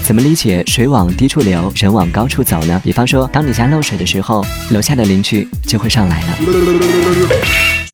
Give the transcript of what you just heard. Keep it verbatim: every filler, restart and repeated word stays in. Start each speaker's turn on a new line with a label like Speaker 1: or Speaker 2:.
Speaker 1: 怎么理解水往低处流，人往高处走呢？比方说，当你家漏水的时候，楼下的邻居就会上来了。